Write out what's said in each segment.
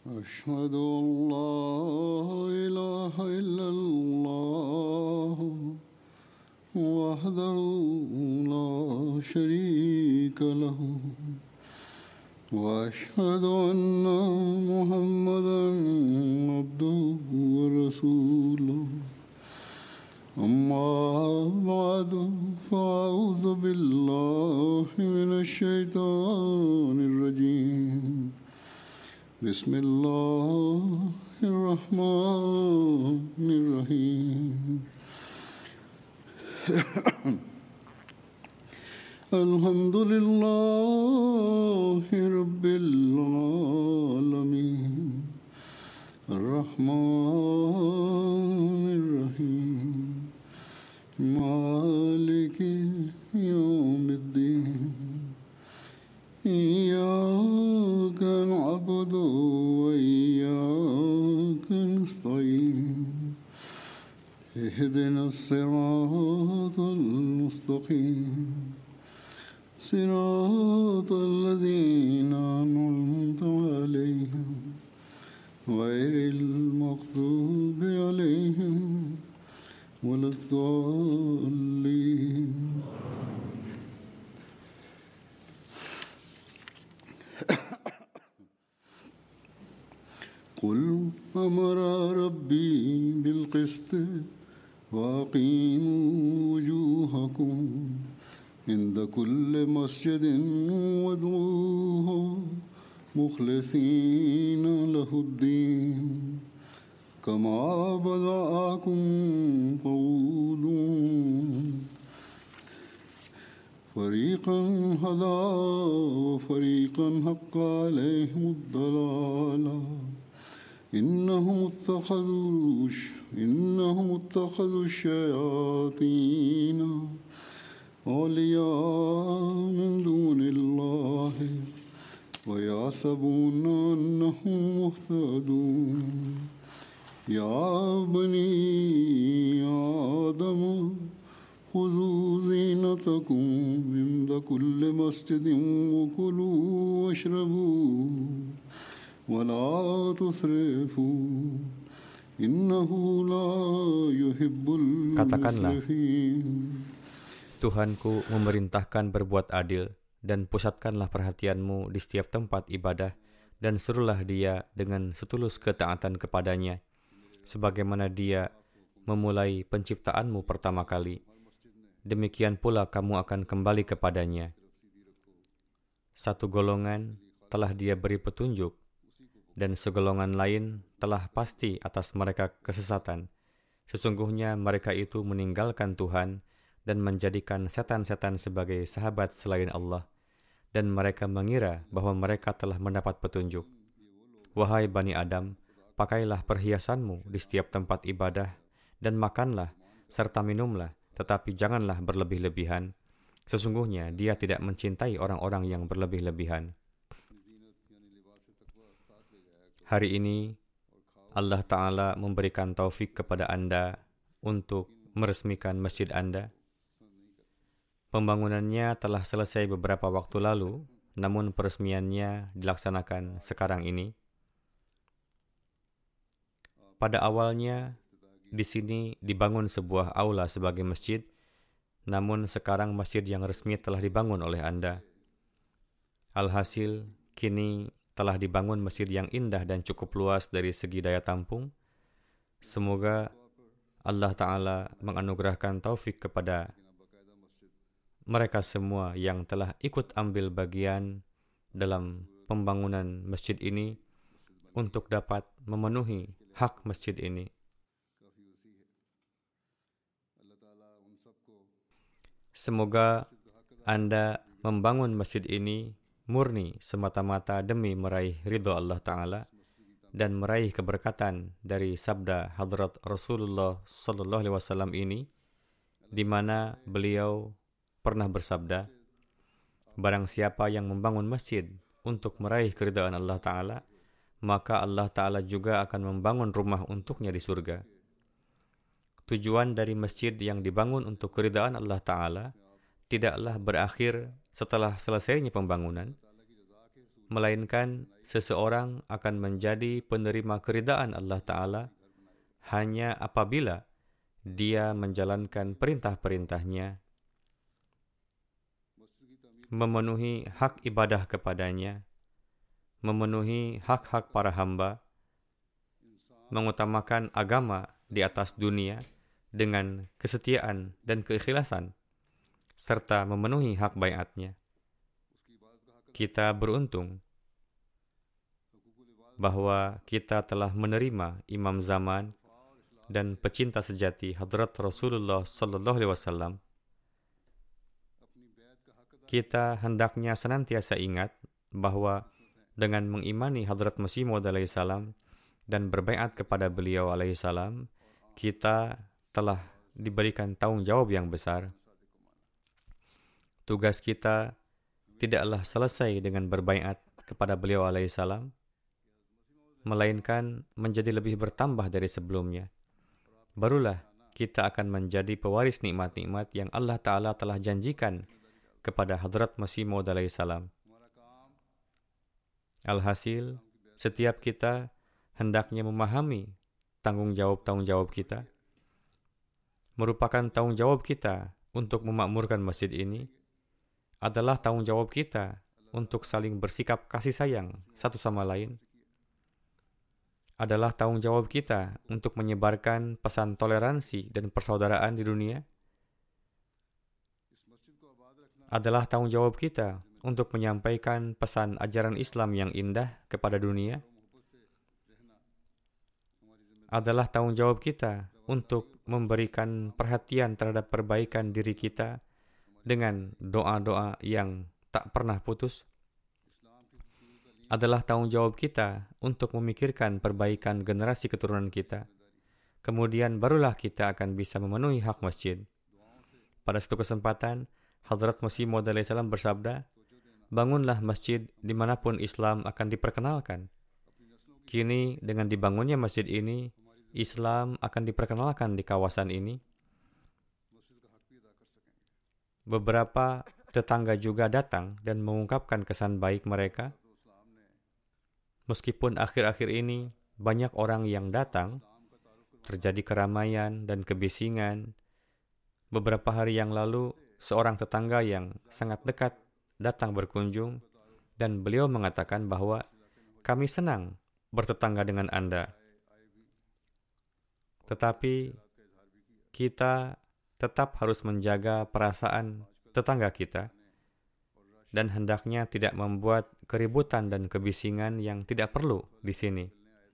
أشهد أن لا إله إلا الله وحده لا شريك له وأشهد أن محمدا عبده ورسوله أما بعد فأعوذ بالله من الشيطان الرجيم بسم الله الرحمن الرحيم الحمد لله رب العالمين الرحمن الرحيم مالك يوم الدين إياك نعبد وإياك نستعين اهدنا الصراط المستقيم صراط الذين أنعمت عليهم غير المغضوب عليهم ولا الضالين قل أمر ربي بالقسط وأقيموا وجوهكم عند كل مسجد وادعوه مخلصين له الدين كما بدأكم تعودون فريقا هدى وفريقا حق عليهم الضلالة إنهم اتخذوا الشياطين أولياء من دون الله ويحسبون أنهم مهتدون يا بني آدم خذوا زينتكم عند كل مسجد وكلوا واشربوا ولا تسرفوا إنه لا يحب المسرفين. Tuhanku memerintahkan berbuat adil, dan pusatkanlah perhatianmu di setiap tempat ibadah, dan suruhlah dia dengan setulus ketaatan kepadanya, sebagaimana dia memulai penciptaanmu pertama kali. Demikian pula kamu akan kembali kepadanya. Satu golongan telah dia beri petunjuk, dan segolongan lain telah pasti atas mereka kesesatan. Sesungguhnya mereka itu meninggalkan Tuhan dan menjadikan setan-setan sebagai sahabat selain Allah, dan mereka mengira bahwa mereka telah mendapat petunjuk. Wahai Bani Adam, pakailah perhiasanmu di setiap tempat ibadah, dan makanlah serta minumlah, tetapi janganlah berlebih-lebihan. Sesungguhnya dia tidak mencintai orang-orang yang berlebih-lebihan. Hari ini, Allah Ta'ala memberikan taufik kepada Anda untuk meresmikan masjid Anda. Pembangunannya telah selesai beberapa waktu lalu, namun peresmiannya dilaksanakan sekarang ini. Pada awalnya, di sini dibangun sebuah aula sebagai masjid, namun sekarang masjid yang resmi telah dibangun oleh Anda. Alhasil, kini telah dibangun masjid yang indah dan cukup luas dari segi daya tampung. Semoga Allah Ta'ala menganugerahkan taufik kepada mereka semua yang telah ikut ambil bagian dalam pembangunan masjid ini untuk dapat memenuhi hak masjid ini. Semoga Anda membangun masjid ini murni semata-mata demi meraih ridha Allah Ta'ala dan meraih keberkatan dari sabda Hadrat Rasulullah Sallallahu Alaihi Wasallam ini, di mana beliau pernah bersabda, barang siapa yang membangun masjid untuk meraih keridhaan Allah Ta'ala, maka Allah Ta'ala juga akan membangun rumah untuknya di surga. Tujuan dari masjid yang dibangun untuk keridhaan Allah Ta'ala tidaklah berakhir setelah selesainya pembangunan, melainkan seseorang akan menjadi penerima keridaan Allah Ta'ala hanya apabila dia menjalankan perintah-perintahnya, memenuhi hak ibadah kepadanya, memenuhi hak-hak para hamba, mengutamakan agama di atas dunia dengan kesetiaan dan keikhlasan, serta memenuhi hak baiatnya. Kita beruntung bahwa kita telah menerima imam zaman dan pecinta sejati Hadrat Rasulullah Sallallahu Alaihi Wasallam. Kita hendaknya senantiasa ingat bahwa dengan mengimani Hadrat Masih Maud alaihi salam dan berbaiat kepada beliau alaihi salam, kita telah diberikan tanggung jawab yang besar. Tugas kita tidaklah selesai dengan berbaiat kepada beliau alaihi salam, melainkan menjadi lebih bertambah dari sebelumnya. Barulah kita akan menjadi pewaris nikmat-nikmat yang Allah Ta'ala telah janjikan kepada Hadrat Masih Maud alaihi salam. Alhasil, setiap kita hendaknya memahami tanggung jawab kita, merupakan tanggung jawab kita untuk memakmurkan masjid ini, adalah tanggung jawab kita untuk saling bersikap kasih sayang satu sama lain, adalah tanggung jawab kita untuk menyebarkan pesan toleransi dan persaudaraan di dunia, adalah tanggung jawab kita untuk menyampaikan pesan ajaran Islam yang indah kepada dunia, adalah tanggung jawab kita untuk memberikan perhatian terhadap perbaikan diri kita dengan doa-doa yang tak pernah putus, adalah tanggung jawab kita untuk memikirkan perbaikan generasi keturunan kita. Kemudian barulah kita akan bisa memenuhi hak masjid. Pada satu kesempatan, Hadrat Masih Maud alaihi salam bersabda, "Bangunlah masjid dimanapun Islam akan diperkenalkan." Kini dengan dibangunnya masjid ini, Islam akan diperkenalkan di kawasan ini. Beberapa tetangga juga datang dan mengungkapkan kesan baik mereka. Meskipun akhir-akhir ini banyak orang yang datang, terjadi keramaian dan kebisingan. Beberapa hari yang lalu, seorang tetangga yang sangat dekat datang berkunjung dan beliau mengatakan bahwa kami senang bertetangga dengan Anda. Tetapi kita tetap harus menjaga perasaan tetangga kita dan hendaknya tidak membuat keributan dan kebisingan yang tidak perlu di sini,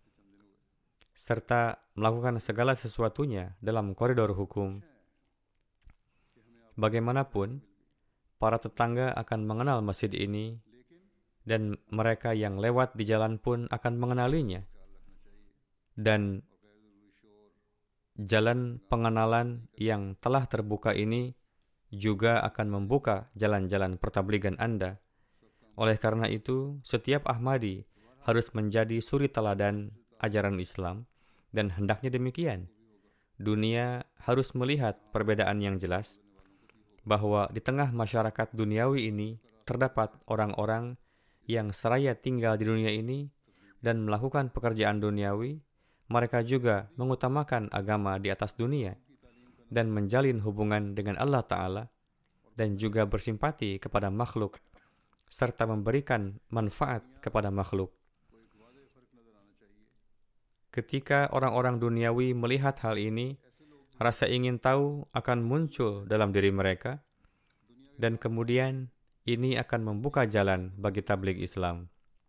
serta melakukan segala sesuatunya dalam koridor hukum. Bagaimanapun, para tetangga akan mengenal masjid ini dan mereka yang lewat di jalan pun akan mengenalinya. Dan jalan pengenalan yang telah terbuka ini juga akan membuka jalan-jalan pertabligan Anda. Oleh karena itu, setiap Ahmadi harus menjadi suri teladan ajaran Islam dan hendaknya demikian. Dunia harus melihat perbedaan yang jelas bahwa di tengah masyarakat duniawi ini terdapat orang-orang yang seraya tinggal di dunia ini dan melakukan pekerjaan duniawi. Mereka juga mengutamakan agama di atas dunia dan menjalin hubungan dengan Allah Ta'ala dan juga bersimpati kepada makhluk serta memberikan manfaat kepada makhluk. Ketika orang-orang duniawi melihat hal ini, rasa ingin tahu akan muncul dalam diri mereka, dan kemudian ini akan membuka jalan bagi tabligh Islam.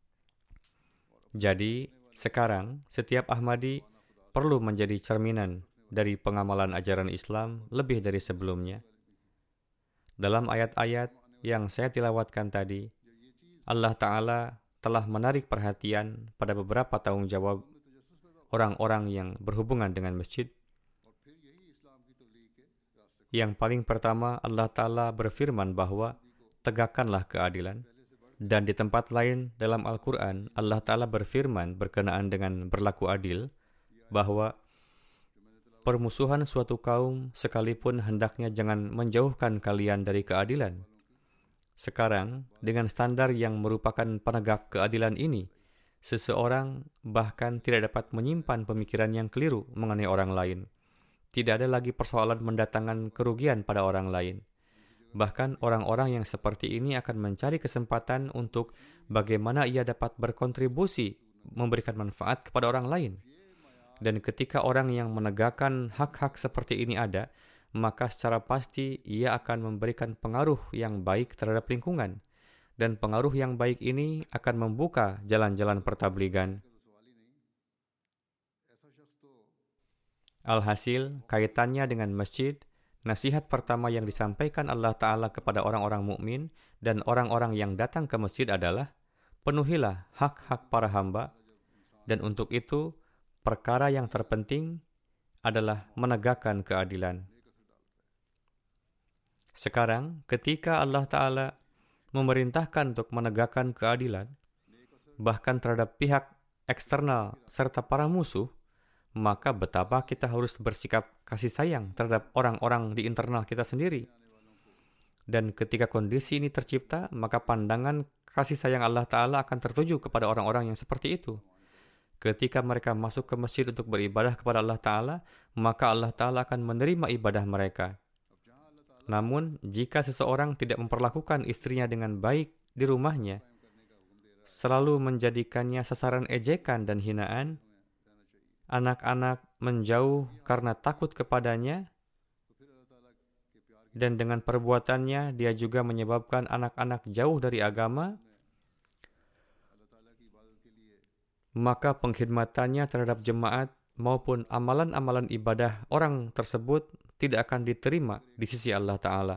Jadi, sekarang setiap Ahmadi perlu menjadi cerminan dari pengamalan ajaran Islam lebih dari sebelumnya. Dalam ayat-ayat yang saya tilawatkan tadi, Allah Ta'ala telah menarik perhatian pada beberapa tanggung jawab orang-orang yang berhubungan dengan masjid. Yang paling pertama, Allah Ta'ala berfirman bahwa tegakkanlah keadilan. Dan di tempat lain dalam Al-Quran, Allah Ta'ala berfirman berkenaan dengan berlaku adil, bahwa permusuhan suatu kaum sekalipun hendaknya jangan menjauhkan kalian dari keadilan. Sekarang, dengan standar yang merupakan penegak keadilan ini, Seseorang bahkan tidak dapat menyimpan pemikiran yang keliru mengenai orang lain. Tidak ada lagi persoalan mendatangkan kerugian pada orang lain. Bahkan orang-orang yang seperti ini akan mencari kesempatan untuk bagaimana ia dapat berkontribusi memberikan manfaat kepada orang lain. Dan ketika orang yang menegakkan hak-hak seperti ini ada, maka secara pasti ia akan memberikan pengaruh yang baik terhadap lingkungan. Dan pengaruh yang baik ini akan membuka jalan-jalan pertabligan. Alhasil, kaitannya dengan masjid, nasihat pertama yang disampaikan Allah Ta'ala kepada orang-orang mukmin dan orang-orang yang datang ke masjid adalah, penuhilah hak-hak para hamba, dan untuk itu, perkara yang terpenting adalah menegakkan keadilan. Sekarang, ketika Allah Ta'ala memerintahkan untuk menegakkan keadilan, bahkan terhadap pihak eksternal serta para musuh, maka betapa kita harus bersikap kasih sayang terhadap orang-orang di internal kita sendiri. Dan ketika kondisi ini tercipta, maka pandangan kasih sayang Allah Ta'ala akan tertuju kepada orang-orang yang seperti itu. Ketika mereka masuk ke masjid untuk beribadah kepada Allah Ta'ala, maka Allah Ta'ala akan menerima ibadah mereka. Namun, jika seseorang tidak memperlakukan istrinya dengan baik di rumahnya, selalu menjadikannya sasaran ejekan dan hinaan, anak-anak menjauh karena takut kepadanya, dan dengan perbuatannya dia juga menyebabkan anak-anak jauh dari agama, maka pengkhidmatannya terhadap jemaat maupun amalan-amalan ibadah orang tersebut tidak akan diterima di sisi Allah Ta'ala.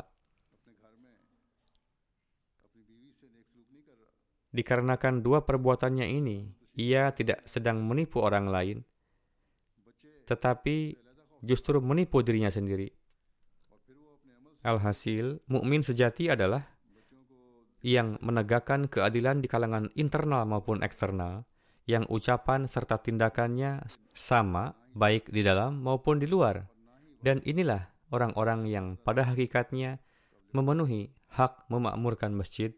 Dikarenakan dua perbuatannya ini, ia tidak sedang menipu orang lain, tetapi justru menipu dirinya sendiri. Alhasil, mukmin sejati adalah yang menegakkan keadilan di kalangan internal maupun eksternal, yang ucapan serta tindakannya sama baik di dalam maupun di luar. Dan inilah orang-orang yang pada hakikatnya memenuhi hak memakmurkan masjid.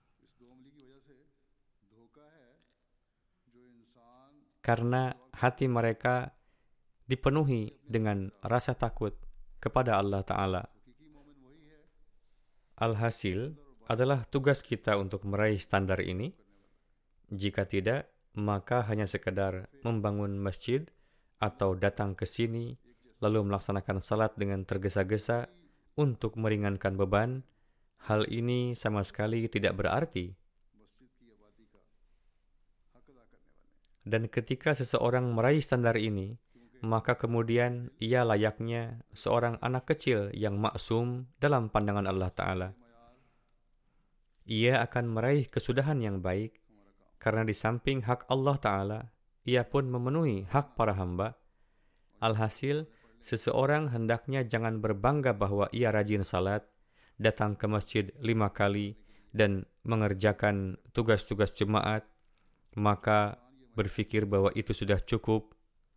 Karena hati mereka dipenuhi dengan rasa takut kepada Allah Ta'ala. Alhasil, adalah tugas kita untuk meraih standar ini. Jika tidak, maka hanya sekedar membangun masjid atau datang ke sini, lalu melaksanakan salat dengan tergesa-gesa untuk meringankan beban, hal ini sama sekali tidak berarti. Dan ketika seseorang meraih standar ini, maka kemudian ia layaknya seorang anak kecil yang maksum dalam pandangan Allah Ta'ala. Ia akan meraih kesudahan yang baik, karena di samping hak Allah Ta'ala, ia pun memenuhi hak para hamba. Alhasil, seseorang hendaknya jangan berbangga bahwa ia rajin salat, datang ke masjid 5 kali, dan mengerjakan tugas-tugas jemaat, maka berpikir bahwa itu sudah cukup.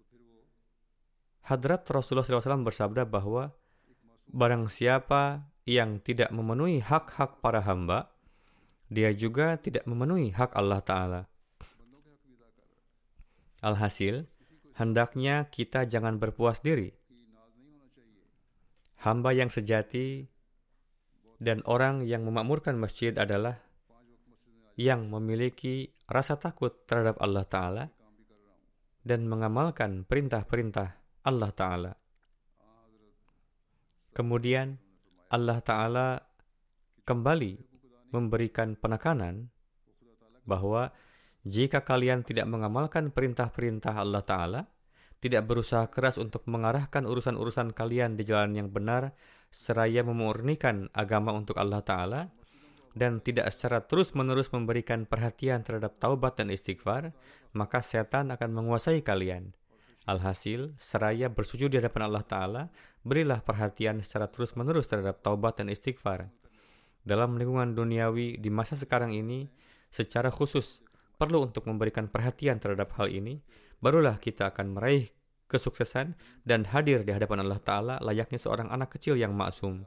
Hadrat Rasulullah SAW bersabda bahwa barang siapa yang tidak memenuhi hak-hak para hamba, dia juga tidak memenuhi hak Allah Ta'ala. Alhasil, hendaknya kita jangan berpuas diri. Hamba yang sejati dan orang yang memakmurkan masjid adalah yang memiliki rasa takut terhadap Allah Ta'ala dan mengamalkan perintah-perintah Allah Ta'ala. Kemudian Allah Ta'ala kembali memberikan penekanan bahwa jika kalian tidak mengamalkan perintah-perintah Allah Ta'ala, tidak berusaha keras untuk mengarahkan urusan-urusan kalian di jalan yang benar, seraya memurnikan agama untuk Allah Ta'ala, dan tidak secara terus-menerus memberikan perhatian terhadap taubat dan istighfar, maka setan akan menguasai kalian. Alhasil, seraya bersujud di hadapan Allah Ta'ala, berilah perhatian secara terus-menerus terhadap taubat dan istighfar. Dalam lingkungan duniawi di masa sekarang ini, secara khusus perlu untuk memberikan perhatian terhadap hal ini, barulah kita akan meraih kesuksesan dan hadir di hadapan Allah Ta'ala layaknya seorang anak kecil yang maksum.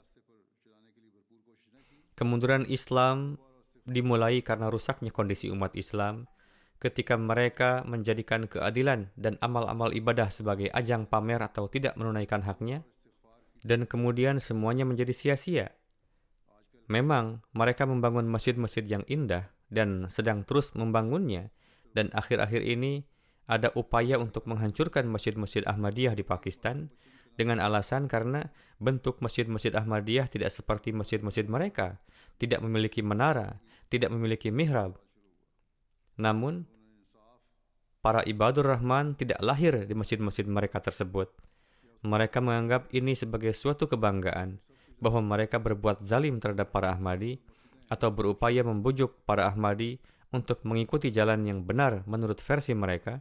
Kemunduran Islam dimulai karena rusaknya kondisi umat Islam, ketika mereka menjadikan keadilan dan amal-amal ibadah sebagai ajang pamer atau tidak menunaikan haknya, dan kemudian semuanya menjadi sia-sia. Memang mereka membangun masjid-masjid yang indah dan sedang terus membangunnya, dan akhir-akhir ini ada upaya untuk menghancurkan masjid-masjid Ahmadiyah di Pakistan dengan alasan karena bentuk masjid-masjid Ahmadiyah tidak seperti masjid-masjid mereka, tidak memiliki menara, tidak memiliki mihrab. Namun, para ibadur Rahman tidak lahir di masjid-masjid mereka tersebut. Mereka menganggap ini sebagai suatu kebanggaan, bahwa mereka berbuat zalim terhadap para Ahmadi, atau berupaya membujuk para Ahmadi untuk mengikuti jalan yang benar menurut versi mereka.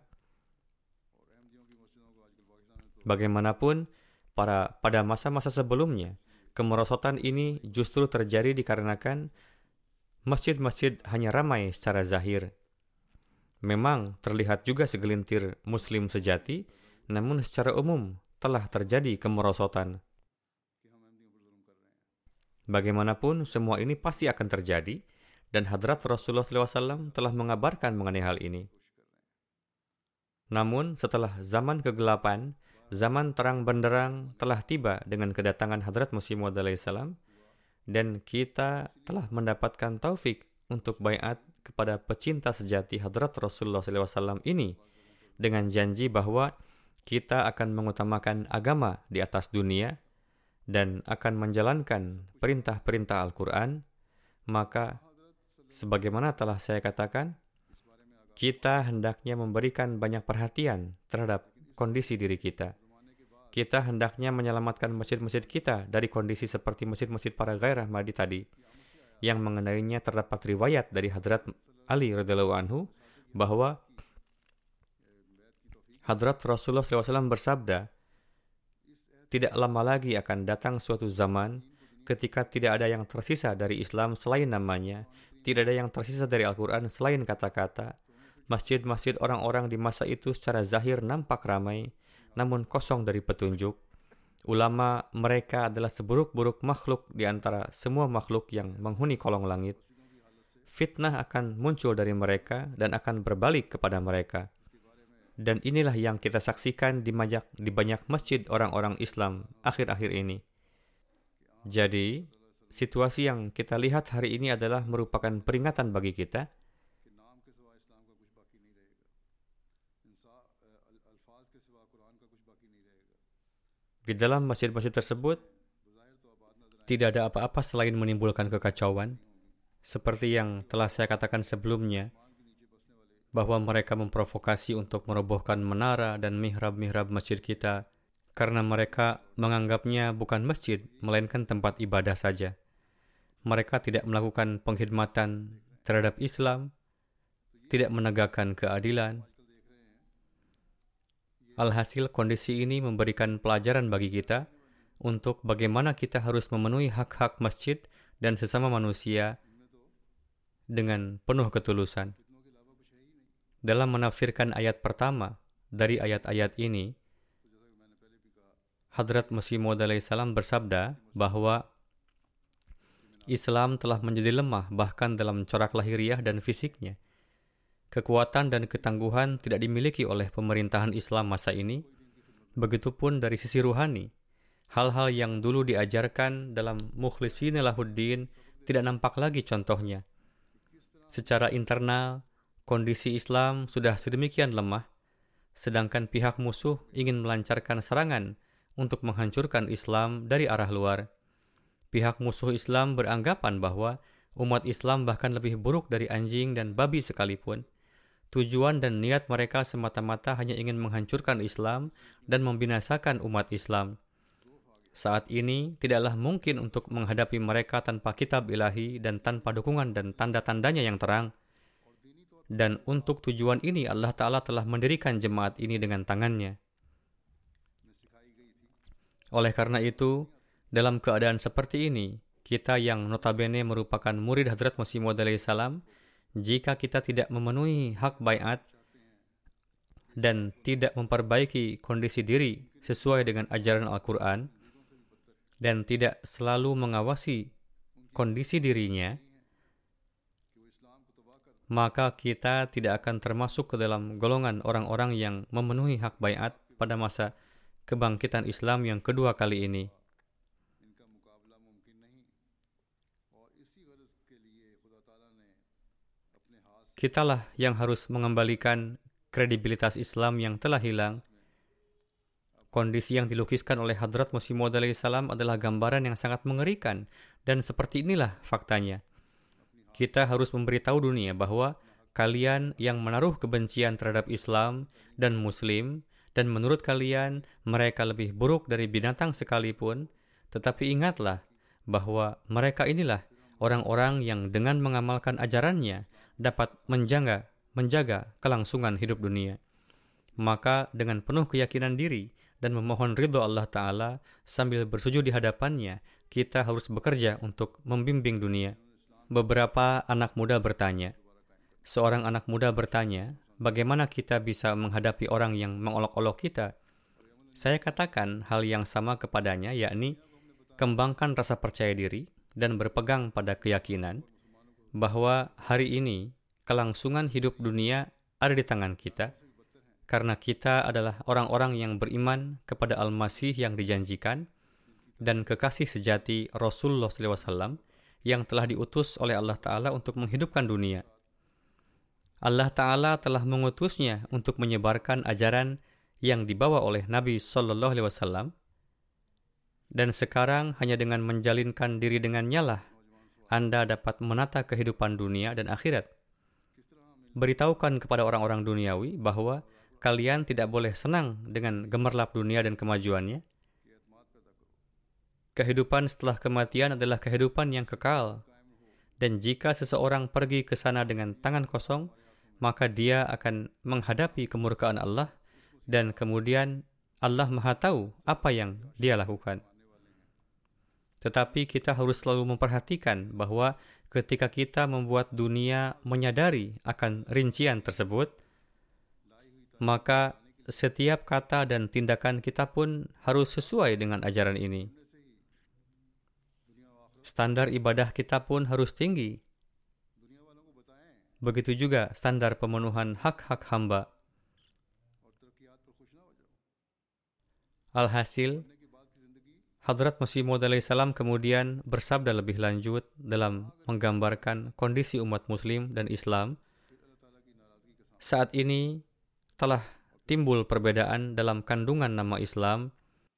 Bagaimanapun, pada masa-masa sebelumnya, kemerosotan ini justru terjadi dikarenakan masjid-masjid hanya ramai secara zahir. Memang terlihat juga segelintir Muslim sejati, namun secara umum telah terjadi kemerosotan. Bagaimanapun, semua ini pasti akan terjadi, dan Hadrat Rasulullah SAW telah mengabarkan mengenai hal ini. Namun, setelah zaman kegelapan, zaman terang benderang telah tiba dengan kedatangan Hadrat Masih Maud alaihissalam, dan kita telah mendapatkan taufik untuk baiat kepada pecinta sejati Hadrat Rasulullah SAW ini, dengan janji bahwa kita akan mengutamakan agama di atas dunia, dan akan menjalankan perintah-perintah Al-Quran. Maka, sebagaimana telah saya katakan, kita hendaknya memberikan banyak perhatian terhadap kondisi diri kita. Kita hendaknya menyelamatkan masjid-masjid kita dari kondisi seperti masjid-masjid para ghair Ahmadi tadi, yang mengenainya terdapat riwayat dari Hadrat Ali radhiyallahu anhu bahwa Hadrat Rasulullah SAW bersabda, tidak lama lagi akan datang suatu zaman ketika tidak ada yang tersisa dari Islam selain namanya, tidak ada yang tersisa dari Al-Quran selain kata-kata. Masjid-masjid orang-orang di masa itu secara zahir nampak ramai, namun kosong dari petunjuk. Ulama mereka adalah seburuk-buruk makhluk di antara semua makhluk yang menghuni kolong langit. Fitnah akan muncul dari mereka dan akan berbalik kepada mereka. Dan inilah yang kita saksikan di banyak masjid orang-orang Islam akhir-akhir ini. Jadi, situasi yang kita lihat hari ini adalah merupakan peringatan bagi kita. Di dalam masjid-masjid tersebut, tidak ada apa-apa selain menimbulkan kekacauan, seperti yang telah saya katakan sebelumnya, bahwa mereka memprovokasi untuk merobohkan menara dan mihrab-mihrab masjid kita, karena mereka menganggapnya bukan masjid, melainkan tempat ibadah saja. Mereka tidak melakukan pengkhidmatan terhadap Islam, tidak menegakkan keadilan. Alhasil, kondisi ini memberikan pelajaran bagi kita untuk bagaimana kita harus memenuhi hak-hak masjid dan sesama manusia dengan penuh ketulusan. Dalam menafsirkan ayat pertama dari ayat-ayat ini, Hadrat Masih Maud alaihissalam bersabda bahwa Islam telah menjadi lemah bahkan dalam corak lahiriah dan fisiknya. Kekuatan dan ketangguhan tidak dimiliki oleh pemerintahan Islam masa ini. Begitupun dari sisi ruhani, hal-hal yang dulu diajarkan dalam Mukhlishina Lahuddin tidak nampak lagi contohnya. Secara internal, kondisi Islam sudah sedemikian lemah, sedangkan pihak musuh ingin melancarkan serangan untuk menghancurkan Islam dari arah luar. Pihak musuh Islam beranggapan bahwa umat Islam bahkan lebih buruk dari anjing dan babi sekalipun. Tujuan dan niat mereka semata-mata hanya ingin menghancurkan Islam dan membinasakan umat Islam. Saat ini tidaklah mungkin untuk menghadapi mereka tanpa kitab ilahi dan tanpa dukungan dan tanda-tandanya yang terang. Dan untuk tujuan ini Allah Ta'ala telah mendirikan jemaat ini dengan tangannya. Oleh karena itu, dalam keadaan seperti ini, kita yang notabene merupakan murid Hadrat Masih Maud alaihissalam, jika kita tidak memenuhi hak baiat dan tidak memperbaiki kondisi diri sesuai dengan ajaran Al-Quran dan tidak selalu mengawasi kondisi dirinya, maka kita tidak akan termasuk ke dalam golongan orang-orang yang memenuhi hak baiat pada masa kebangkitan Islam yang kedua kali ini. Kitalah yang harus mengembalikan kredibilitas Islam yang telah hilang. Kondisi yang dilukiskan oleh Hadrat Masih Maud alaihissalam adalah gambaran yang sangat mengerikan, dan seperti inilah faktanya. Kita harus memberitahu dunia bahwa kalian yang menaruh kebencian terhadap Islam dan Muslim, dan menurut kalian mereka lebih buruk dari binatang sekalipun, tetapi ingatlah bahwa mereka inilah orang-orang yang dengan mengamalkan ajarannya dapat menjaga kelangsungan hidup dunia. Maka dengan penuh keyakinan diri dan memohon ridho Allah Ta'ala sambil bersujud di hadapannya, kita harus bekerja untuk membimbing dunia. Beberapa anak muda bertanya. Seorang anak muda bertanya, bagaimana kita bisa menghadapi orang yang mengolok-olok kita? Saya katakan hal yang sama kepadanya, yakni kembangkan rasa percaya diri dan berpegang pada keyakinan bahwa hari ini kelangsungan hidup dunia ada di tangan kita, karena kita adalah orang-orang yang beriman kepada Al-Masih yang dijanjikan dan kekasih sejati Rasulullah SAW yang telah diutus oleh Allah Ta'ala untuk menghidupkan dunia. Allah Ta'ala telah mengutusnya untuk menyebarkan ajaran yang dibawa oleh Nabi SAW, dan sekarang hanya dengan menjalinkan diri dengannya lah Anda dapat menata kehidupan dunia dan akhirat. Beritahukan kepada orang-orang duniawi bahwa kalian tidak boleh senang dengan gemerlap dunia dan kemajuannya. Kehidupan setelah kematian adalah kehidupan yang kekal. Dan jika seseorang pergi ke sana dengan tangan kosong, maka dia akan menghadapi kemurkaan Allah, dan kemudian Allah Maha Tahu apa yang dia lakukan. Tetapi kita harus selalu memperhatikan bahwa ketika kita membuat dunia menyadari akan rincian tersebut, maka setiap kata dan tindakan kita pun harus sesuai dengan ajaran ini. Standar ibadah kita pun harus tinggi. Begitu juga standar pemenuhan hak-hak hamba. Alhasil, Hadrat Masih Maud alaihissalam kemudian bersabda lebih lanjut dalam menggambarkan kondisi umat Muslim dan Islam. Saat ini telah timbul perbedaan dalam kandungan nama Islam.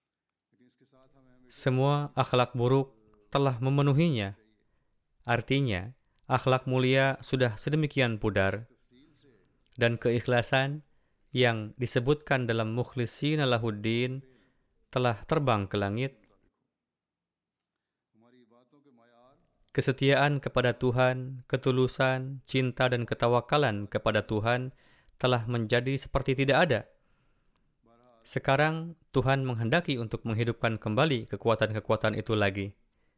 Semua akhlak buruk telah memenuhinya. Artinya, akhlak mulia sudah sedemikian pudar, dan keikhlasan yang disebutkan dalam Mukhlishina Lahuddin telah terbang ke langit. Kesetiaan kepada Tuhan, ketulusan, cinta dan ketawakalan kepada Tuhan telah menjadi seperti tidak ada. Sekarang Tuhan menghendaki untuk menghidupkan kembali kekuatan-kekuatan itu lagi.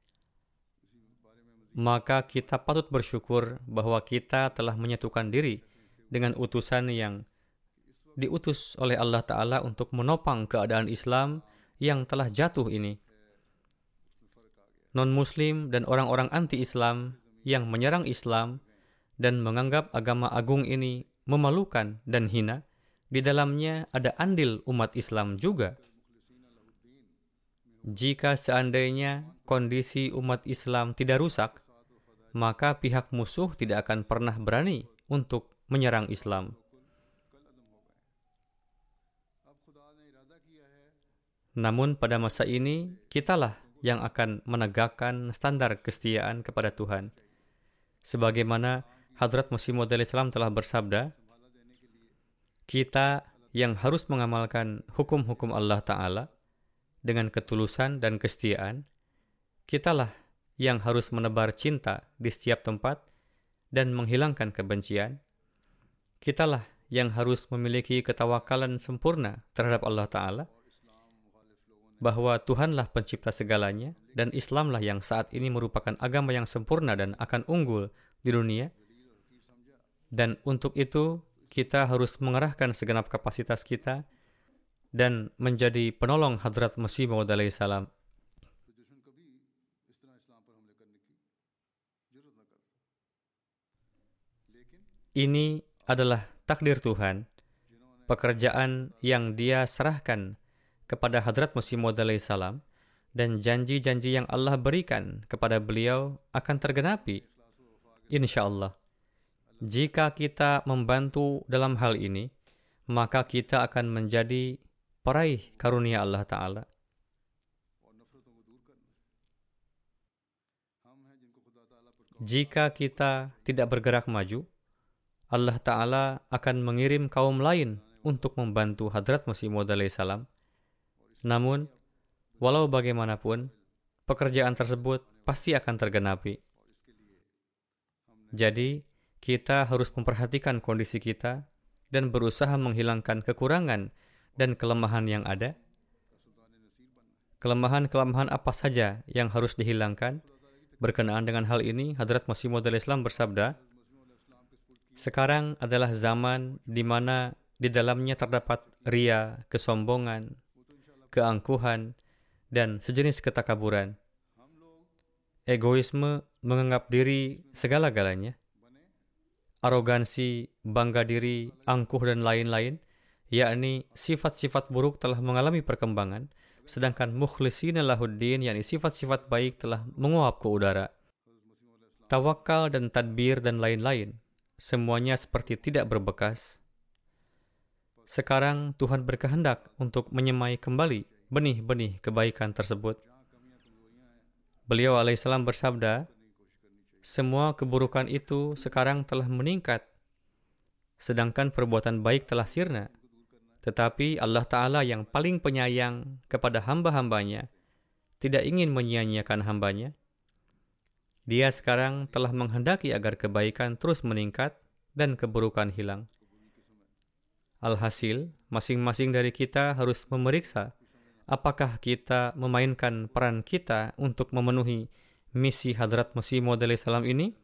Maka kita patut bersyukur bahwa kita telah menyatukan diri dengan utusan yang diutus oleh Allah Ta'ala untuk menopang keadaan Islam yang telah jatuh ini. Non-Muslim dan orang-orang anti-Islam yang menyerang Islam dan menganggap agama agung ini memalukan dan hina, di dalamnya ada andil umat Islam juga. Jika seandainya kondisi umat Islam tidak rusak, maka pihak musuh tidak akan pernah berani untuk menyerang Islam. Namun pada masa ini, kitalah yang akan menegakkan standar kesetiaan kepada Tuhan. Sebagaimana Hadrat Masih Maud alaihissalam telah bersabda, kita yang harus mengamalkan hukum-hukum Allah Ta'ala dengan ketulusan dan kesetiaan, kitalah yang harus menebar cinta di setiap tempat dan menghilangkan kebencian. Kitalah yang harus memiliki ketawakalan sempurna terhadap Allah Ta'ala, bahwa Tuhanlah pencipta segalanya, dan Islamlah yang saat ini merupakan agama yang sempurna dan akan unggul di dunia. Dan untuk itu, kita harus mengerahkan segenap kapasitas kita dan menjadi penolong Hadrat Masih Maud alaihissalam. ini adalah takdir Tuhan, pekerjaan yang Dia serahkan kepada Hadrat Masih Maud alaihissalam, dan janji-janji yang Allah berikan kepada beliau akan tergenapi, insya Allah. Jika kita membantu dalam hal ini, maka kita akan menjadi peraih karunia Allah Ta'ala. Jika kita tidak bergerak maju, Allah Ta'ala akan mengirim kaum lain untuk membantu Hadrat Masih Maud alaihissalam. Namun, walau bagaimanapun, pekerjaan tersebut pasti akan tergenapi. Jadi, kita harus memperhatikan kondisi kita dan berusaha menghilangkan kekurangan dan kelemahan yang ada. Kelemahan-kelemahan apa saja yang harus dihilangkan? Berkenaan dengan hal ini, Hadrat Masih Maud alaihissalam bersabda, sekarang adalah zaman di mana di dalamnya terdapat ria, kesombongan, keangkuhan, dan sejenis ketakaburan. Egoisme, menganggap diri segala-galanya. Arogansi, bangga diri, angkuh, dan lain-lain, yakni sifat-sifat buruk telah mengalami perkembangan, sedangkan mukhlisina lahuddin, yakni sifat-sifat baik telah menguap ke udara. Tawakal dan tadbir dan lain-lain, semuanya seperti tidak berbekas. Sekarang Tuhan berkehendak untuk menyemai kembali benih-benih kebaikan tersebut. Beliau alaihissalam bersabda, semua keburukan itu sekarang telah meningkat, sedangkan perbuatan baik telah sirna. Tetapi Allah Ta'ala yang paling penyayang kepada hamba-hambanya tidak ingin menyia-nyiakan hambanya. Dia sekarang telah menghendaki agar kebaikan terus meningkat dan keburukan hilang. Alhasil, masing-masing dari kita harus memeriksa apakah kita memainkan peran kita untuk memenuhi misi Hadrat Masih Maud alaihissalam ini?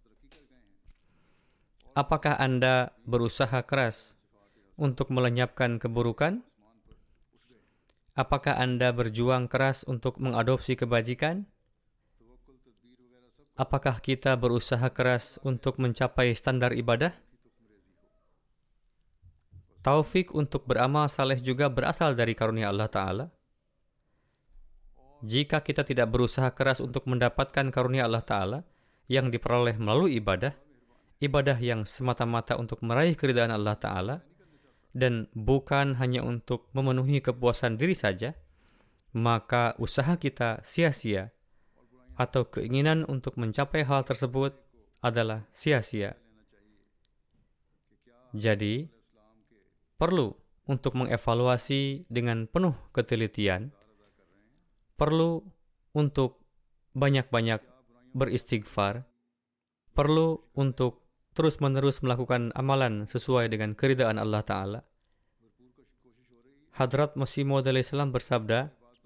Apakah Anda berusaha keras untuk melenyapkan keburukan? Apakah Anda berjuang keras untuk mengadopsi kebajikan? Apakah kita berusaha keras untuk mencapai standar ibadah? Taufik untuk beramal saleh juga berasal dari karunia Allah Ta'ala. Jika kita tidak berusaha keras untuk mendapatkan karunia Allah Ta'ala yang diperoleh melalui ibadah yang semata-mata untuk meraih keridhaan Allah Ta'ala, dan bukan hanya untuk memenuhi kepuasan diri saja, maka usaha kita sia-sia, atau keinginan untuk mencapai hal tersebut adalah sia-sia. Jadi, perlu untuk mengevaluasi dengan penuh ketelitian, perlu untuk banyak-banyak beristighfar, perlu untuk terus-menerus melakukan amalan sesuai dengan keridhaan Allah Ta'ala. Hadrat Masih Maud alaihissalam bersabda,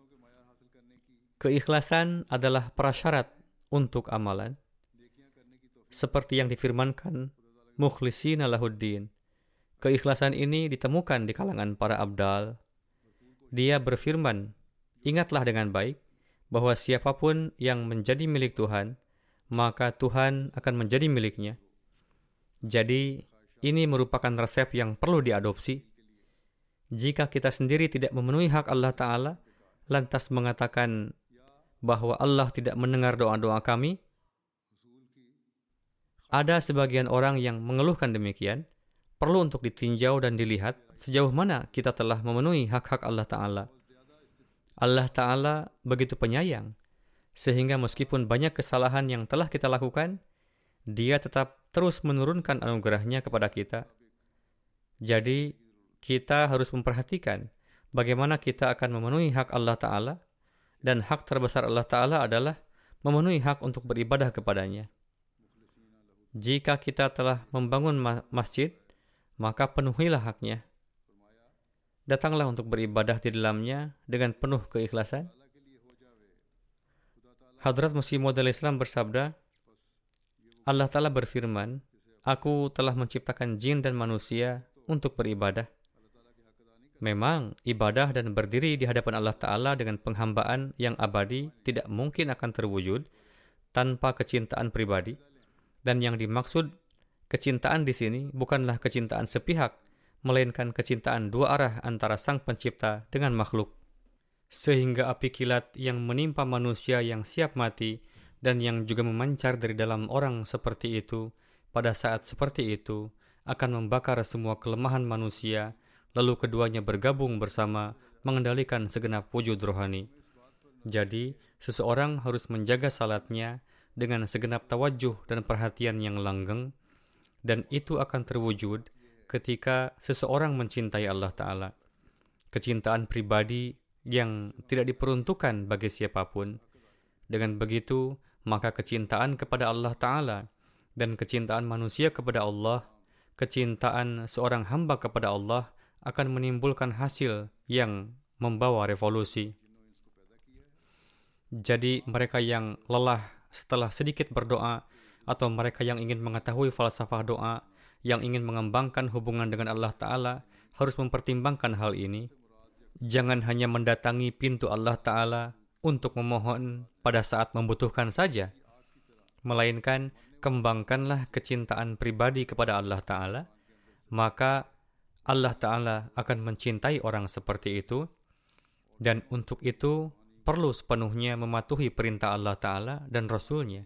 keikhlasan adalah prasyarat untuk amalan. Seperti yang difirmankan, mukhlisina lahuddin. Keikhlasan ini ditemukan di kalangan para abdal. Dia berfirman, ingatlah dengan baik bahwa siapapun yang menjadi milik Tuhan, maka Tuhan akan menjadi miliknya. Jadi, ini merupakan resep yang perlu diadopsi. Jika kita sendiri tidak memenuhi hak Allah Ta'ala, lantas mengatakan bahwa Allah tidak mendengar doa-doa kami, ada sebagian orang yang mengeluhkan demikian. Perlu untuk ditinjau dan dilihat sejauh mana kita telah memenuhi hak-hak Allah Ta'ala. Allah Ta'ala begitu penyayang, sehingga meskipun banyak kesalahan yang telah kita lakukan, Dia tetap terus menurunkan anugerahnya kepada kita. Jadi, kita harus memperhatikan bagaimana kita akan memenuhi hak Allah Ta'ala, dan hak terbesar Allah Ta'ala adalah memenuhi hak untuk beribadah kepadanya. Jika kita telah membangun masjid, maka penuhilah haknya. Datanglah untuk beribadah di dalamnya dengan penuh keikhlasan. Hadrat Masih Maud alaihissalam bersabda, Allah Ta'ala berfirman, Aku telah menciptakan jin dan manusia untuk beribadah. Memang, ibadah dan berdiri di hadapan Allah Ta'ala dengan penghambaan yang abadi tidak mungkin akan terwujud tanpa kecintaan pribadi. Dan yang dimaksud Kecintaan di sini bukanlah kecintaan sepihak, melainkan kecintaan dua arah antara Sang Pencipta dengan makhluk. Sehingga api kilat yang menimpa manusia yang siap mati dan yang juga memancar dari dalam orang seperti itu, pada saat seperti itu, akan membakar semua kelemahan manusia, lalu keduanya bergabung bersama mengendalikan segenap wujud rohani. Jadi, seseorang harus menjaga salatnya dengan segenap tawajuh dan perhatian yang langgeng, dan itu akan terwujud ketika seseorang mencintai Allah Ta'ala. Kecintaan pribadi yang tidak diperuntukkan bagi siapapun. Dengan begitu, maka kecintaan kepada Allah Ta'ala dan kecintaan manusia kepada Allah, kecintaan seorang hamba kepada Allah akan menimbulkan hasil yang membawa revolusi. Jadi mereka yang lelah setelah sedikit berdoa, atau mereka yang ingin mengetahui falsafah doa, yang ingin mengembangkan hubungan dengan Allah Ta'ala, harus mempertimbangkan hal ini. Jangan hanya mendatangi pintu Allah Ta'ala untuk memohon pada saat membutuhkan saja, melainkan kembangkanlah kecintaan pribadi kepada Allah Ta'ala, maka Allah Ta'ala akan mencintai orang seperti itu, dan untuk itu perlu sepenuhnya mematuhi perintah Allah Ta'ala dan Rasul-Nya.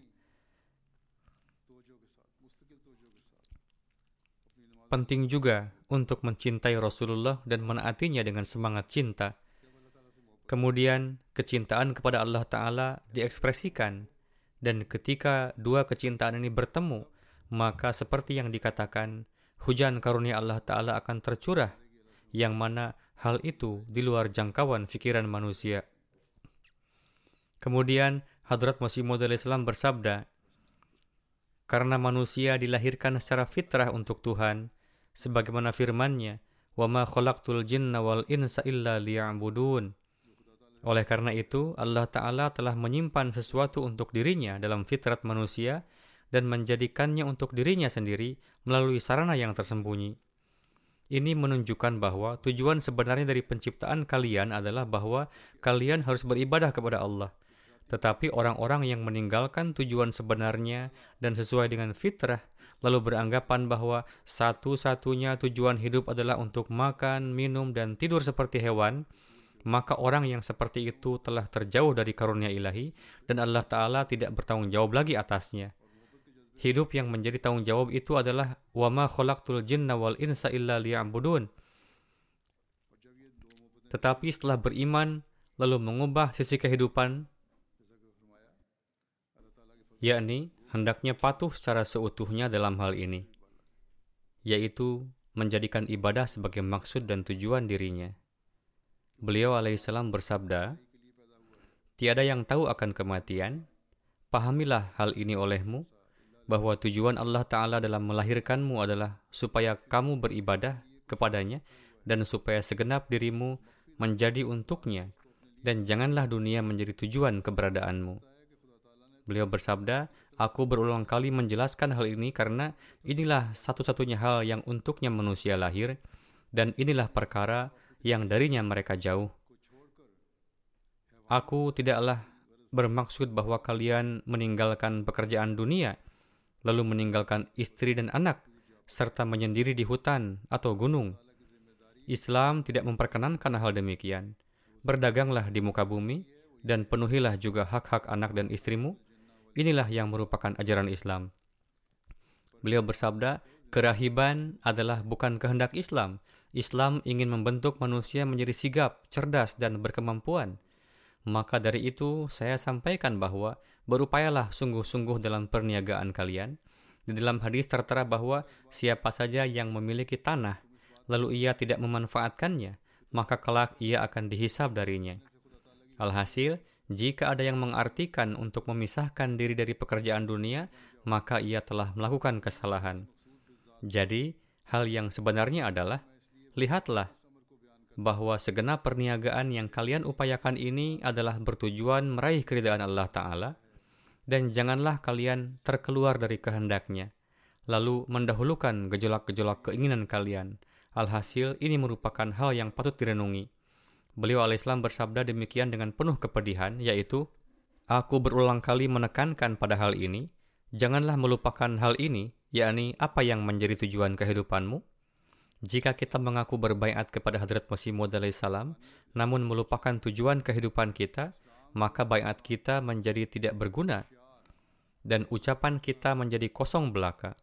Penting juga untuk mencintai Rasulullah dan menaatinya dengan semangat cinta. Kemudian, kecintaan kepada Allah Ta'ala diekspresikan, dan ketika dua kecintaan ini bertemu, maka seperti yang dikatakan, hujan karunia Allah Ta'ala akan tercurah, yang mana hal itu di luar jangkauan fikiran manusia. Kemudian, Hadrat Masih Maud Islam bersabda, karena manusia dilahirkan secara fitrah untuk Tuhan, sebagaimana firman-Nya, وَمَا خَلَقْتُ الْجِنَّ وَالْإِنْسَ إِلَّا لِيَعْبُدُونَ. Oleh karena itu, Allah Ta'ala telah menyimpan sesuatu untuk dirinya dalam fitrat manusia dan menjadikannya untuk dirinya sendiri melalui sarana yang tersembunyi. Ini menunjukkan bahwa tujuan sebenarnya dari penciptaan kalian adalah bahwa kalian harus beribadah kepada Allah. Tetapi orang-orang yang meninggalkan tujuan sebenarnya dan sesuai dengan fitrah, lalu beranggapan bahwa satu-satunya tujuan hidup adalah untuk makan, minum, dan tidur seperti hewan, maka orang yang seperti itu telah terjauh dari karunia ilahi dan Allah Ta'ala tidak bertanggung jawab lagi atasnya. Hidup yang menjadi tanggung jawab itu adalah وَمَا خَلَقْتُ الْجِنَّ وَالْإِنْسَ إِلَّا لِيَعْبُدُونَ. Tetapi setelah beriman, lalu mengubah sisi kehidupan, yakni hendaknya patuh secara seutuhnya dalam hal ini, yaitu menjadikan ibadah sebagai maksud dan tujuan dirinya. Beliau alaihissalam bersabda, tiada yang tahu akan kematian, pahamilah hal ini olehmu, bahwa tujuan Allah Ta'ala dalam melahirkanmu adalah supaya kamu beribadah kepadanya dan supaya segenap dirimu menjadi untuknya, dan janganlah dunia menjadi tujuan keberadaanmu. Beliau bersabda, aku berulang kali menjelaskan hal ini karena inilah satu-satunya hal yang untuknya manusia lahir, dan inilah perkara yang darinya mereka jauh. Aku tidaklah bermaksud bahwa kalian meninggalkan pekerjaan dunia, lalu meninggalkan istri dan anak, serta menyendiri di hutan atau gunung. Islam tidak memperkenankan hal demikian. Berdaganglah di muka bumi, dan penuhilah juga hak-hak anak dan istrimu. Inilah yang merupakan ajaran Islam. Beliau bersabda, kerahiban adalah bukan kehendak Islam. Islam ingin membentuk manusia menjadi sigap, cerdas, dan berkemampuan. Maka dari itu, saya sampaikan bahwa berupayalah sungguh-sungguh dalam perniagaan kalian. Di dalam hadis tertera bahwa siapa saja yang memiliki tanah, lalu ia tidak memanfaatkannya, maka kelak ia akan dihisab darinya. Alhasil, jika ada yang mengartikan untuk memisahkan diri dari pekerjaan dunia, maka ia telah melakukan kesalahan. Jadi, hal yang sebenarnya adalah, lihatlah bahwa segenap perniagaan yang kalian upayakan ini adalah bertujuan meraih keridhaan Allah Ta'ala, dan janganlah kalian terkeluar dari kehendaknya, lalu mendahulukan gejolak-gejolak keinginan kalian. Alhasil, ini merupakan hal yang patut direnungi. Beliau alaihissalam bersabda demikian dengan penuh kepedihan, yaitu, aku berulang kali menekankan pada hal ini, janganlah melupakan hal ini, yakni apa yang menjadi tujuan kehidupanmu? Jika kita mengaku berbaiat kepada Hadrat Masih Maud alaihissalam, namun melupakan tujuan kehidupan kita, maka baiat kita menjadi tidak berguna dan ucapan kita menjadi kosong belaka.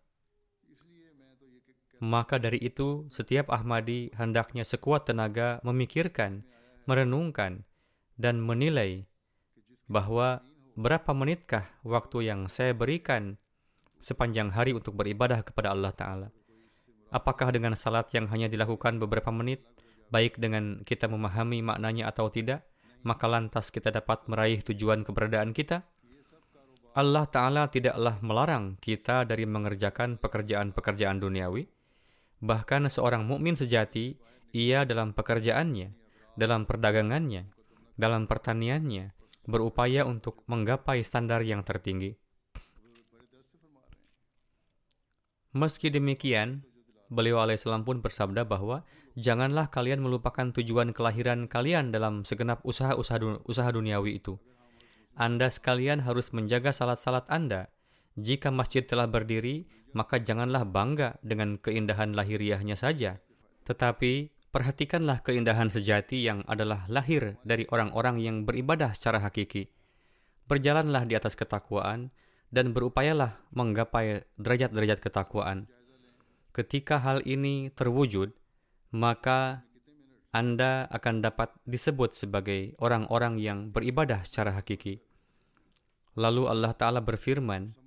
Maka dari itu, setiap Ahmadi hendaknya sekuat tenaga memikirkan, merenungkan, dan menilai bahwa berapa menitkah waktu yang saya berikan sepanjang hari untuk beribadah kepada Allah Ta'ala. Apakah dengan salat yang hanya dilakukan beberapa menit, baik dengan kita memahami maknanya atau tidak, maka lantas kita dapat meraih tujuan keberadaan kita? Allah Ta'ala tidaklah melarang kita dari mengerjakan pekerjaan-pekerjaan duniawi. Bahkan seorang mukmin sejati, ia dalam pekerjaannya, dalam perdagangannya, dalam pertaniannya, berupaya untuk menggapai standar yang tertinggi. Meski demikian, beliau alaihissalam pun bersabda bahwa janganlah kalian melupakan tujuan kelahiran kalian dalam segenap usaha duniawi itu. Anda sekalian harus menjaga salat-salat Anda. Jika masjid telah berdiri, maka janganlah bangga dengan keindahan lahiriahnya saja. Tetapi perhatikanlah keindahan sejati yang adalah lahir dari orang-orang yang beribadah secara hakiki. Berjalanlah di atas ketakwaan dan berupayalah menggapai derajat-derajat ketakwaan. Ketika hal ini terwujud, maka Anda akan dapat disebut sebagai orang-orang yang beribadah secara hakiki. Lalu Allah Ta'ala berfirman,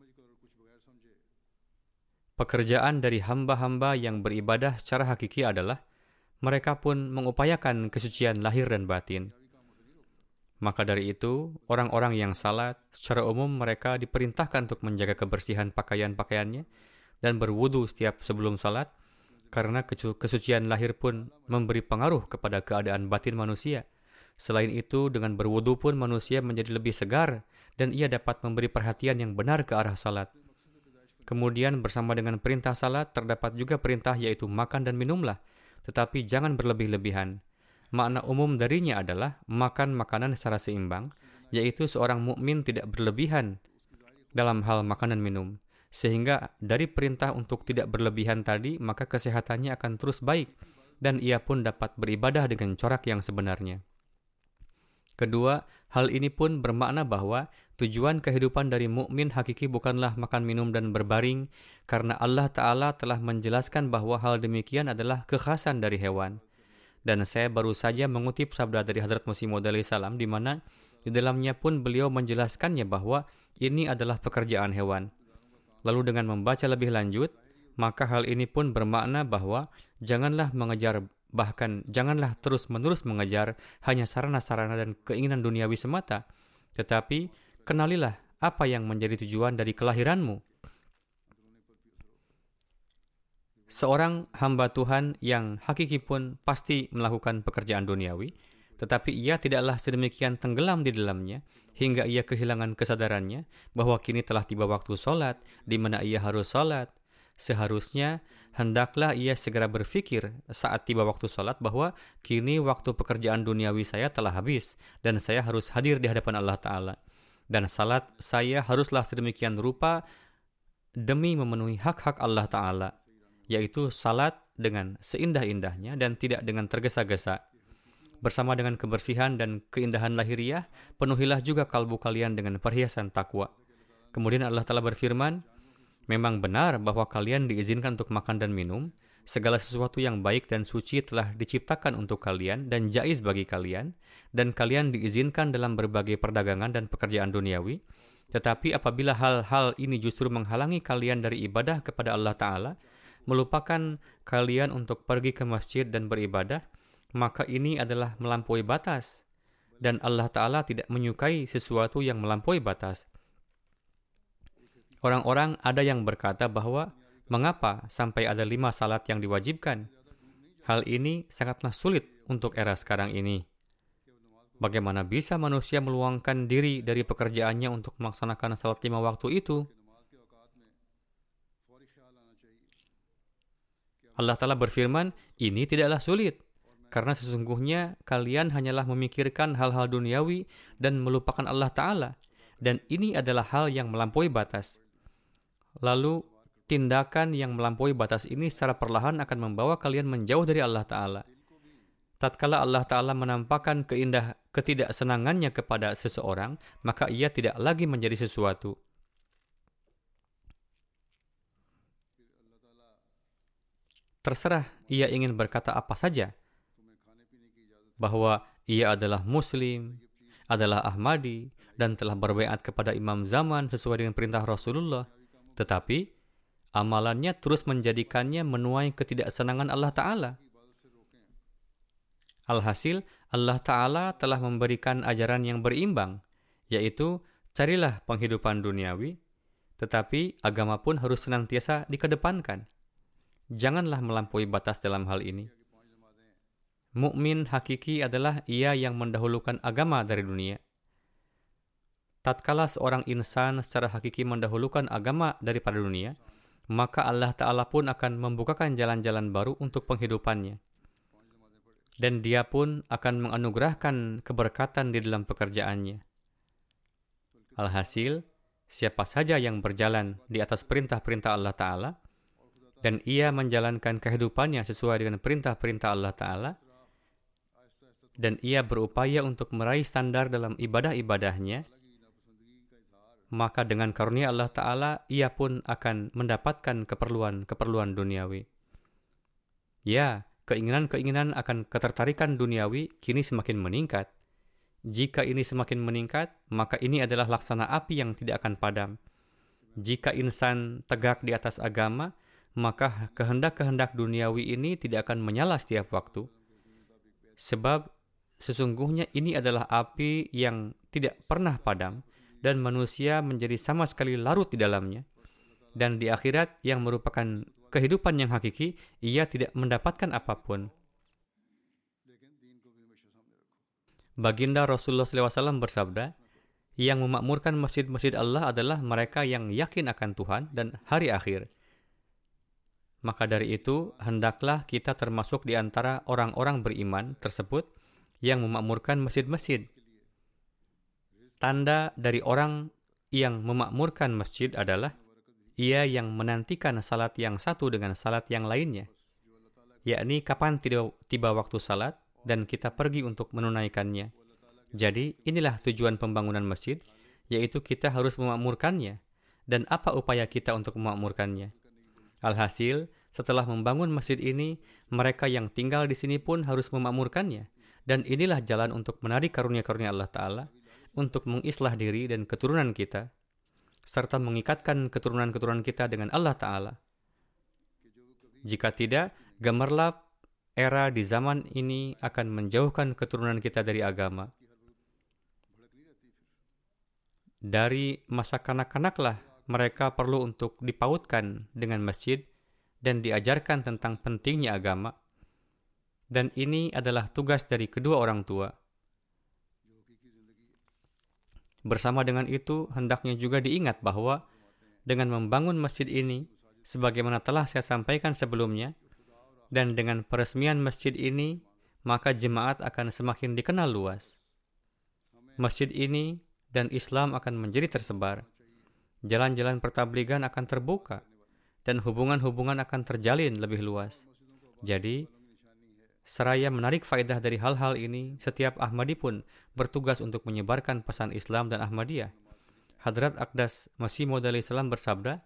pekerjaan dari hamba-hamba yang beribadah secara hakiki adalah mereka pun mengupayakan kesucian lahir dan batin. Maka dari itu, orang-orang yang salat, secara umum mereka diperintahkan untuk menjaga kebersihan pakaian-pakaiannya dan berwudu setiap sebelum salat, karena kesucian lahir pun memberi pengaruh kepada keadaan batin manusia. Selain itu, dengan berwudu pun manusia menjadi lebih segar dan ia dapat memberi perhatian yang benar ke arah salat. Kemudian bersama dengan perintah salat, terdapat juga perintah yaitu makan dan minumlah, tetapi jangan berlebih-lebihan. Makna umum darinya adalah makan makanan secara seimbang, yaitu seorang mukmin tidak berlebihan dalam hal makan dan minum. Sehingga dari perintah untuk tidak berlebihan tadi, maka kesehatannya akan terus baik dan ia pun dapat beribadah dengan corak yang sebenarnya. Kedua, hal ini pun bermakna bahwa tujuan kehidupan dari mukmin hakiki bukanlah makan minum dan berbaring, karena Allah Ta'ala telah menjelaskan bahwa hal demikian adalah kekhasan dari hewan. Dan saya baru saja mengutip sabda dari Hadrat Masih Maud alaihissalam, di mana di dalamnya pun beliau menjelaskannya bahwa ini adalah pekerjaan hewan. Lalu dengan membaca lebih lanjut, maka hal ini pun bermakna bahwa janganlah mengejar, bahkan janganlah terus-menerus mengejar hanya sarana-sarana dan keinginan duniawi semata, tetapi kenalilah apa yang menjadi tujuan dari kelahiranmu. Seorang hamba Tuhan yang hakiki pun pasti melakukan pekerjaan duniawi, tetapi ia tidaklah sedemikian tenggelam di dalamnya hingga ia kehilangan kesadarannya bahwa kini telah tiba waktu sholat, di mana ia harus sholat. Seharusnya hendaklah ia segera berpikir saat tiba waktu sholat bahwa kini waktu pekerjaan duniawi saya telah habis dan saya harus hadir di hadapan Allah Ta'ala. Dan salat saya haruslah sedemikian rupa demi memenuhi hak-hak Allah Ta'ala, yaitu salat dengan seindah-indahnya dan tidak dengan tergesa-gesa. Bersama dengan kebersihan dan keindahan lahiriah, penuhilah juga kalbu kalian dengan perhiasan takwa. Kemudian Allah Ta'ala berfirman, memang benar bahwa kalian diizinkan untuk makan dan minum. Segala sesuatu yang baik dan suci telah diciptakan untuk kalian dan jaiz bagi kalian. Dan kalian diizinkan dalam berbagai perdagangan dan pekerjaan duniawi. Tetapi apabila hal-hal ini justru menghalangi kalian dari ibadah kepada Allah Ta'ala, melupakan kalian untuk pergi ke masjid dan beribadah, maka ini adalah melampaui batas. Dan Allah Ta'ala tidak menyukai sesuatu yang melampaui batas. Orang-orang ada yang berkata bahwa mengapa sampai ada 5 salat yang diwajibkan? Hal ini sangatlah sulit untuk era sekarang ini. Bagaimana bisa manusia meluangkan diri dari pekerjaannya untuk melaksanakan salat 5 waktu itu? Allah Ta'ala berfirman, ini tidaklah sulit. Karena sesungguhnya kalian hanyalah memikirkan hal-hal duniawi dan melupakan Allah Ta'ala. Dan ini adalah hal yang melampaui batas. Lalu, tindakan yang melampaui batas ini secara perlahan akan membawa kalian menjauh dari Allah Ta'ala. Tatkala Allah Ta'ala menampakkan ketidaksenangannya kepada seseorang, maka ia tidak lagi menjadi sesuatu. Terserah ia ingin berkata apa saja, bahwa ia adalah Muslim, adalah Ahmadi, dan telah berbaiat kepada Imam Zaman sesuai dengan perintah Rasulullah. Tetapi, amalannya terus menjadikannya menuai ketidaksenangan Allah Ta'ala. Alhasil, Allah Ta'ala telah memberikan ajaran yang berimbang, yaitu carilah penghidupan duniawi, tetapi agama pun harus senantiasa dikedepankan. Janganlah melampaui batas dalam hal ini. Mukmin hakiki adalah ia yang mendahulukan agama dari dunia. Tatkala seorang insan secara hakiki mendahulukan agama daripada dunia, maka Allah Ta'ala pun akan membukakan jalan-jalan baru untuk penghidupannya. Dan dia pun akan menganugerahkan keberkatan di dalam pekerjaannya. Alhasil, siapa saja yang berjalan di atas perintah-perintah Allah Ta'ala, dan ia menjalankan kehidupannya sesuai dengan perintah-perintah Allah Ta'ala, dan ia berupaya untuk meraih standar dalam ibadah-ibadahnya, maka dengan karunia Allah Ta'ala, ia pun akan mendapatkan keperluan duniawi. Ya, keinginan-keinginan akan ketertarikan duniawi kini semakin meningkat. Jika ini semakin meningkat, maka ini adalah laksana api yang tidak akan padam. Jika insan tegak di atas agama, maka kehendak-kehendak duniawi ini tidak akan menyala setiap waktu. Sebab sesungguhnya ini adalah api yang tidak pernah padam dan manusia menjadi sama sekali larut di dalamnya. Dan di akhirat yang merupakan kehidupan yang hakiki, ia tidak mendapatkan apapun. Baginda Rasulullah SAW bersabda, yang memakmurkan masjid-masjid Allah adalah mereka yang yakin akan Tuhan dan hari akhir. Maka dari itu, hendaklah kita termasuk di antara orang-orang beriman tersebut yang memakmurkan masjid-masjid. Tanda dari orang yang memakmurkan masjid adalah ia yang menantikan salat yang satu dengan salat yang lainnya, yakni kapan tiba waktu salat dan kita pergi untuk menunaikannya. Jadi, inilah tujuan pembangunan masjid, yaitu kita harus memakmurkannya. Dan apa upaya kita untuk memakmurkannya? Alhasil, setelah membangun masjid ini, mereka yang tinggal di sini pun harus memakmurkannya. Dan inilah jalan untuk menarik karunia-karunia Allah Ta'ala, untuk mengislah diri dan keturunan kita, serta mengikatkan keturunan-keturunan kita dengan Allah Ta'ala. Jika tidak, gemerlap era di zaman ini akan menjauhkan keturunan kita dari agama. Dari masa kanak-kanaklah mereka perlu untuk dipautkan dengan masjid dan diajarkan tentang pentingnya agama. Dan ini adalah tugas dari kedua orang tua. Bersama dengan itu, hendaknya juga diingat bahwa dengan membangun masjid ini, sebagaimana telah saya sampaikan sebelumnya, dan dengan peresmian masjid ini, maka jemaat akan semakin dikenal luas. Masjid ini dan Islam akan menjadi tersebar. Jalan-jalan pertabligan akan terbuka, dan hubungan-hubungan akan terjalin lebih luas. Jadi, seraya menarik faedah dari hal-hal ini, setiap Ahmadi pun bertugas untuk menyebarkan pesan Islam dan Ahmadiyah. Hadrat Aqdas Masih Maud alaihi salam bersabda,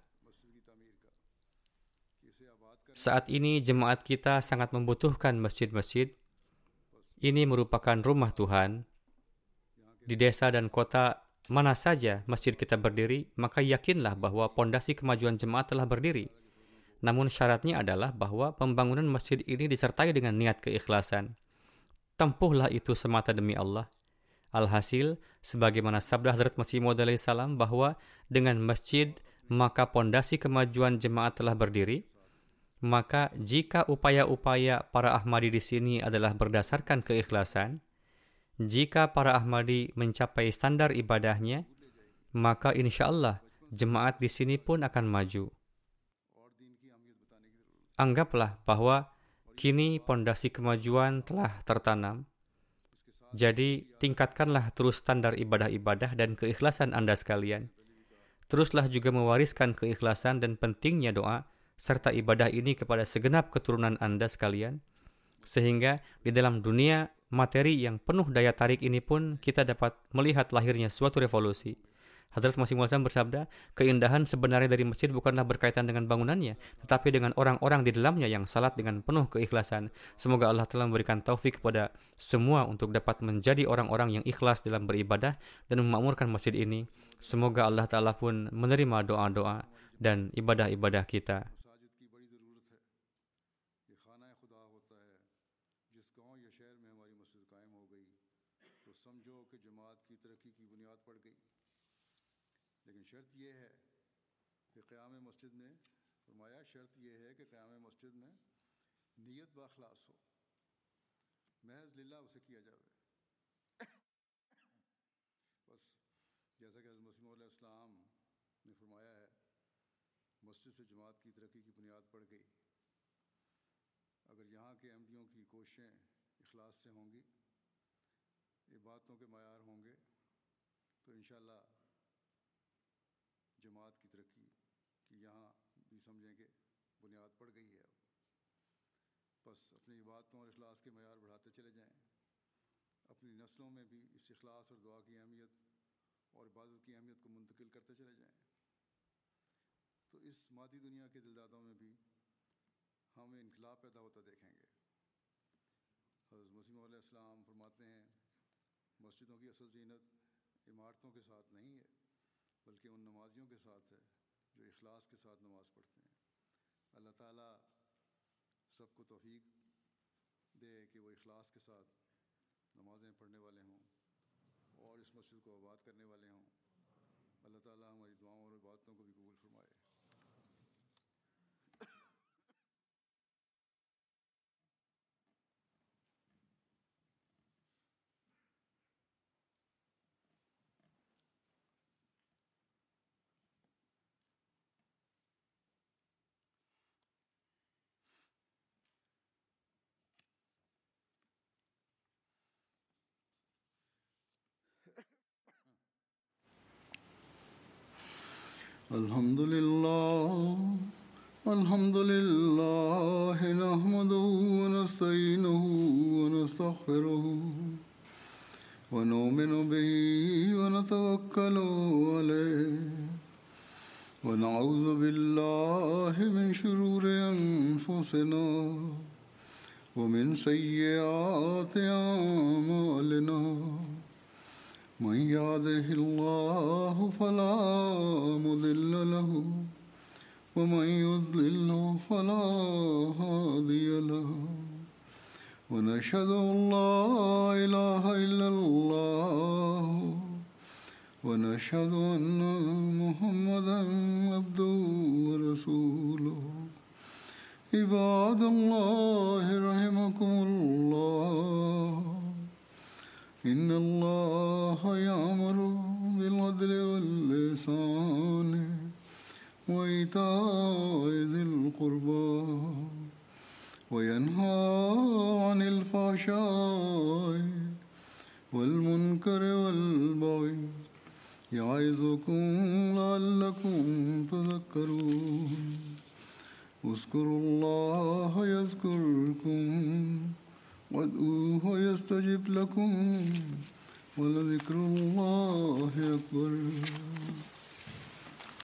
saat ini jemaat kita sangat membutuhkan masjid-masjid. Ini merupakan rumah Tuhan. Di desa dan kota mana saja masjid kita berdiri, maka yakinlah bahwa pondasi kemajuan jemaat telah berdiri. Namun syaratnya adalah bahwa pembangunan masjid ini disertai dengan niat keikhlasan. Tempuhlah itu semata demi Allah. Alhasil, sebagaimana sabda Hadrat Masih Maud alaihi salam bahwa dengan masjid maka pondasi kemajuan jemaat telah berdiri. Maka jika upaya-upaya para Ahmadi di sini adalah berdasarkan keikhlasan, jika para Ahmadi mencapai standar ibadahnya, maka insya Allah jemaat di sini pun akan maju. Anggaplah bahwa kini pondasi kemajuan telah tertanam. Jadi tingkatkanlah terus standar ibadah-ibadah dan keikhlasan Anda sekalian. Teruslah juga mewariskan keikhlasan dan pentingnya doa serta ibadah ini kepada segenap keturunan Anda sekalian, sehingga di dalam dunia materi yang penuh daya tarik ini pun kita dapat melihat lahirnya suatu revolusi. Hadrat Masih Maud bersabda, keindahan sebenarnya dari masjid bukanlah berkaitan dengan bangunannya, tetapi dengan orang-orang di dalamnya yang salat dengan penuh keikhlasan. Semoga Allah telah memberikan taufik kepada semua untuk dapat menjadi orang-orang yang ikhlas dalam beribadah dan memakmurkan masjid ini. Semoga Allah Ta'ala pun menerima doa-doa dan ibadah-ibadah kita. लेकिन शर्त यह है कि क़याम मस्जिद में फरमाया शर्त यह है कि क़याम मस्जिद में नीयत बाखलास हो, महज लिल्लाह उसे किया जावे। बस जैसा कि हज़रत मसीह मौद अलैहिस्सलाम ने फरमाया है, मस्जिद से जमात की तरक्की की बुनियाद पड़ गई। अगर यहाँ के अहमदियों की कोशिशें इखलास से होंगी, इबादतों के मयार होंगे, तो इंशाअल्लाह जमात की तरक्की की यहाँ भी समझेंगे बुनियाद पड़ गई है। अब बस अपनी इबादतों और इखलास के मयार बढ़ाते चले जाएं, अपनी नस्लों में भी इस इखलास और दुआ की अहमियत और इबादत की अहमियत को मुंतकिल करते चले जाएं, तो इस मादी दुनिया के दिलदादों में भी हमें इनकलाब पैदा होता देखेंगे। हज़रत मसीह मौद अलैहिस्सलाम फरमाते हैं, मस्जिदों की असल ज़ीनत इमारतों के साथ नहीं है, बल्कि उन नमाजियों के साथ है जो इखलास के साथ नमाज़ पढ़ते हैं। अल्लाह ताला सबको तौफीक दे कि वो इखलास के साथ नमाज़ें पढ़ने वाले हों और इस मस्जिद को आबाद करने वाले हों। अल्लाह ताला हमारी दुआओं और इबादतों को भी कबूल फरमाए। الحمد لله نحمده ونستعينه ونستغفره ونؤمن به ونتوكل عليه ونعوذ بالله من شرور أنفسنا ومن سيئات أعمالنا من يهده الله فلا مضل له ومن يضلل فلا هادي له ونشهد أن لا إله إلا الله ونشهد أن محمدا عبده ورسوله عباد الله رحمكم الله إن الله يأمر بالعدل والإحسان وإيتاء ذي القربى وينهى عن الفحشاء والمنكر والبغي يعظكم لعلكم تذكرون اذكروا الله يذكركم وادعوه يستجب لكم ولذكر الله أكبر.